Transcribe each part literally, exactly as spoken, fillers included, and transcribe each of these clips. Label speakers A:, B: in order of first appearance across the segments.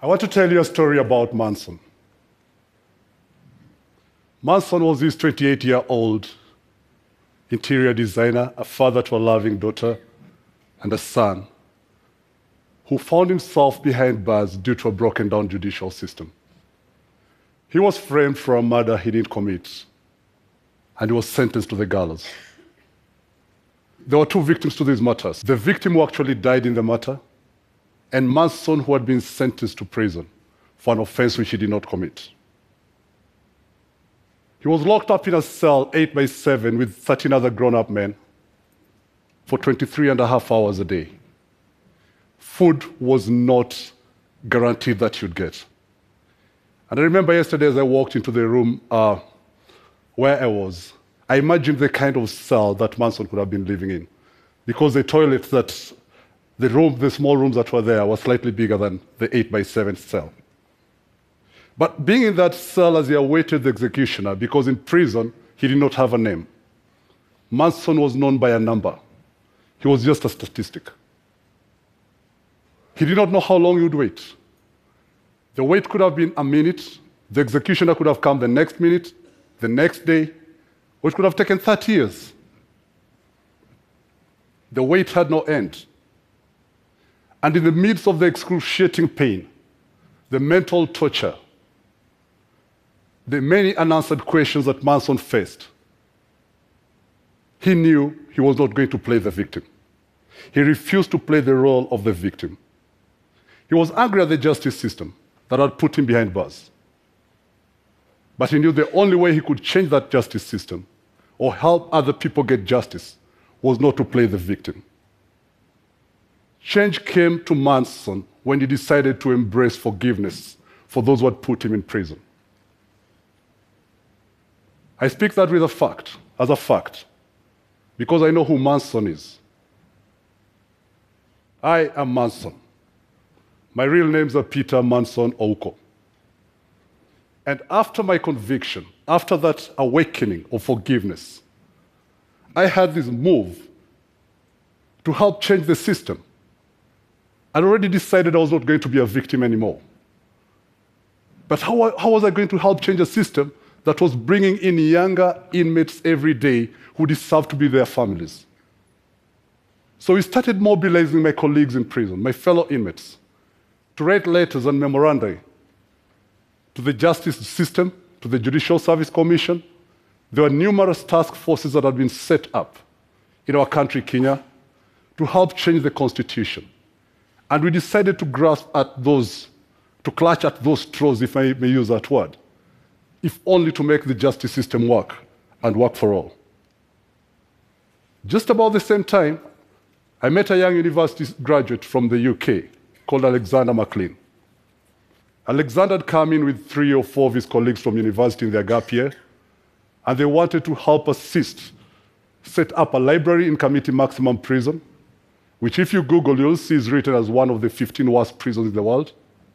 A: I want to tell you a story about Manson. Manson was this twenty-eight-year-old interior designer, a father to a loving daughter, and a son who found himself behind bars due to a broken-down judicial system. He was framed for a murder he didn't commit, and he was sentenced to the gallows. There were two victims to these matters. The victim who actually died in the matter, and Manson, who had been sentenced to prison for an offense which he did not commit. He was locked up in a cell eight by seven with thirteen other grown-up men for twenty-three and a half hours a day. Food was not guaranteed that you'd get. And I remember yesterday as I walked into the room uh, where I was, I imagined the kind of cell that Manson could have been living in, because the toilets that, the room, the small rooms that were there were slightly bigger than the eight by seven cell. But being in that cell as he awaited the executioner, because in prison he did not have a name, Manson was known by a number. He was just a statistic. He did not know how long he would wait. The wait could have been a minute, the executioner could have come the next minute, the next day, or it could have taken thirty years. The wait had no end. And in the midst of the excruciating pain, the mental torture, the many unanswered questions that Manson faced, he knew he was not going to play the victim. He refused to play the role of the victim. He was angry at the justice system that had put him behind bars. But he knew the only way he could change that justice system or help other people get justice was not to play the victim. Change came to Manson when he decided to embrace forgiveness for those who had put him in prison. I speak that with a fact, as a fact, because I know who Manson is. I am Manson. My real names are Peter Manson Ouko. And after my conviction, after that awakening of forgiveness, I had this move to help change the system. I'd already decided I was not going to be a victim anymore. But how, how was I going to help change a system that was bringing in younger inmates every day who deserved to be their families? So we started mobilizing my colleagues in prison, my fellow inmates, to write letters and memoranda to the justice system, to the Judicial Service Commission. There were numerous task forces that had been set up in our country, Kenya, to help change the constitution. And we decided to grasp at those, to clutch at those straws, if I may use that word, if only to make the justice system work and work for all. Just about the same time, I met a young university graduate from the U K called Alexander McLean. Alexander had come in with three or four of his colleagues from university in their gap year, and they wanted to help assist set up a library in Kamiti Maximum Prison, which if you Google, you'll see is written as one of the fifteen worst prisons in the world.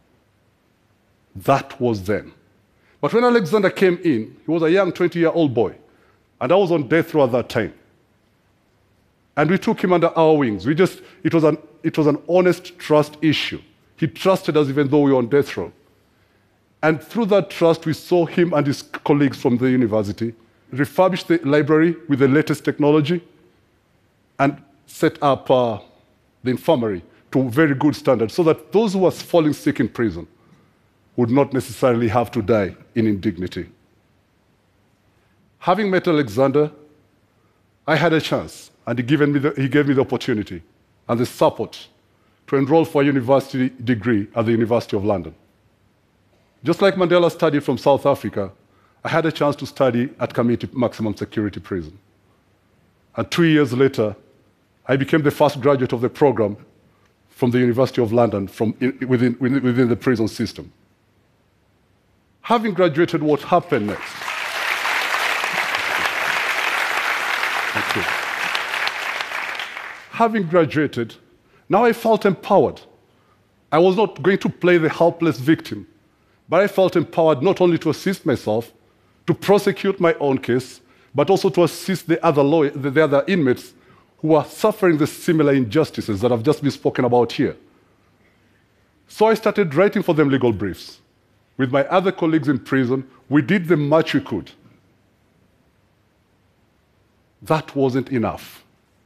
A: That was then. But when Alexander came in, he was a young twenty-year-old boy, and I was on death row at that time. And we took him under our wings. We just, it was an, it was an honest trust issue. He trusted us even though we were on death row. And through that trust, we saw him and his colleagues from the university refurbish the library with the latest technology and set up uh, the infirmary to very good standards so that those who were falling sick in prison would not necessarily have to die in indignity. Having met Alexander, I had a chance, and he, given me the, he gave me the opportunity and the support to enroll for a university degree at the University of London. Just like Mandela studied from South Africa, I had a chance to study at Kamiti Maximum Security Prison. And two years later, I became the first graduate of the program from the University of London from in, within, within the prison system. Having graduated, what happened next? Thank you. Having graduated, now I felt empowered. I was not going to play the helpless victim, but I felt empowered not only to assist myself, to prosecute my own case, but also to assist the other, lawyer, the other inmates who are suffering the similar injustices that have just been spoken about here. So I started writing for them legal briefs. With my other colleagues in prison, we did the much we could. That wasn't enough.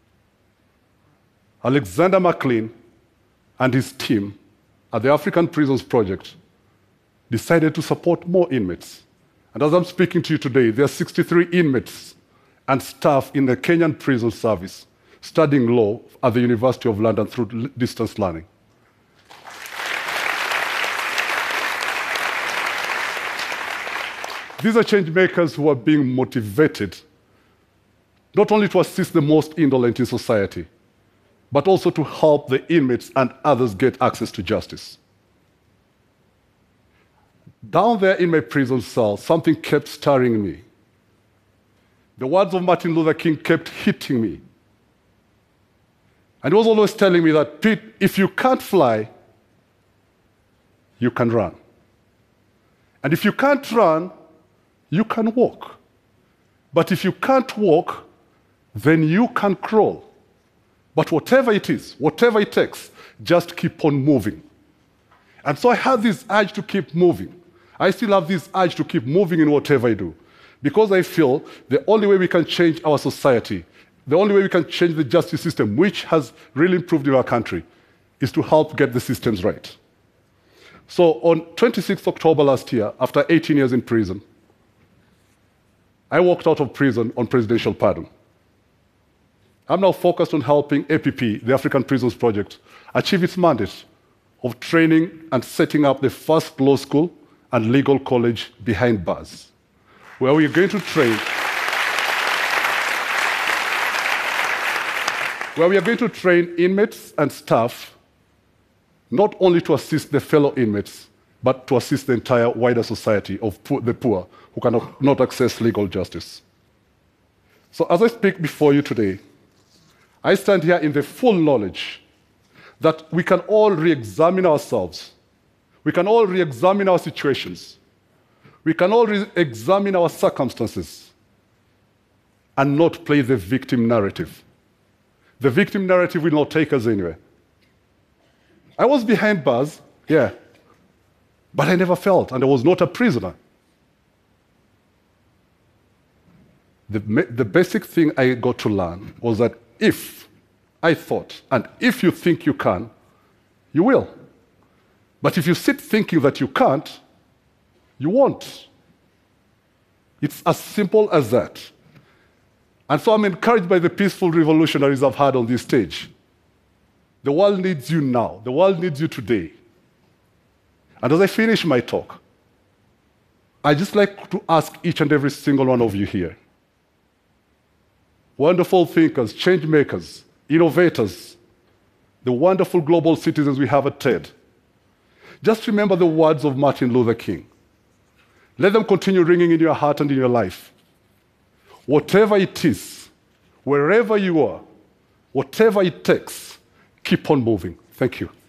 A: Alexander McLean and his team at the African Prisons Project decided to support more inmates. And as I'm speaking to you today, there are sixty-three inmates and staff in the Kenyan prison service studying law at the University of London through distance learning. These are change makers who are being motivated not only to assist the most indolent in society, but also to help the inmates and others get access to justice. Down there in my prison cell, something kept stirring me. The words of Martin Luther King kept hitting me. And he was always telling me that, Pete, if you can't fly, you can run. And if you can't run, you can walk. But if you can't walk, then you can crawl. But whatever it is, whatever it takes, just keep on moving. And so I had this urge to keep moving. I still have this urge to keep moving in whatever I do. Because I feel the only way we can change our society, the only way we can change the justice system, which has really improved in our country, is to help get the systems right. So on twenty-sixth of October last year, after eighteen years in prison, I walked out of prison on presidential pardon. I'm now focused on helping A P P, the African Prisons Project, achieve its mandate of training and setting up the first law school and legal college behind bars, where we are going to train where we are going to train inmates and staff not only to assist the fellow inmates, but to assist the entire wider society of poor, the poor who cannot not access legal justice. So as I speak before you today, I stand here in the full knowledge that we can all re-examine ourselves. We can all re-examine our situations. We can all re-examine our circumstances and not play the victim narrative. The victim narrative will not take us anywhere. I was behind bars, yeah, but I never felt, and I was not a prisoner. The, the basic thing I got to learn was that if I thought, and if you think you can, you will. But if you sit thinking that you can't, you won't. It's as simple as that. And so I'm encouraged by the peaceful revolutionaries I've had on this stage. The world needs you now. The world needs you today. And as I finish my talk, I'd just like to ask each and every single one of you here, wonderful thinkers, change makers, innovators, the wonderful global citizens we have at TED, just remember the words of Martin Luther King. Let them continue ringing in your heart and in your life. Whatever it is, wherever you are, whatever it takes, keep on moving. Thank you.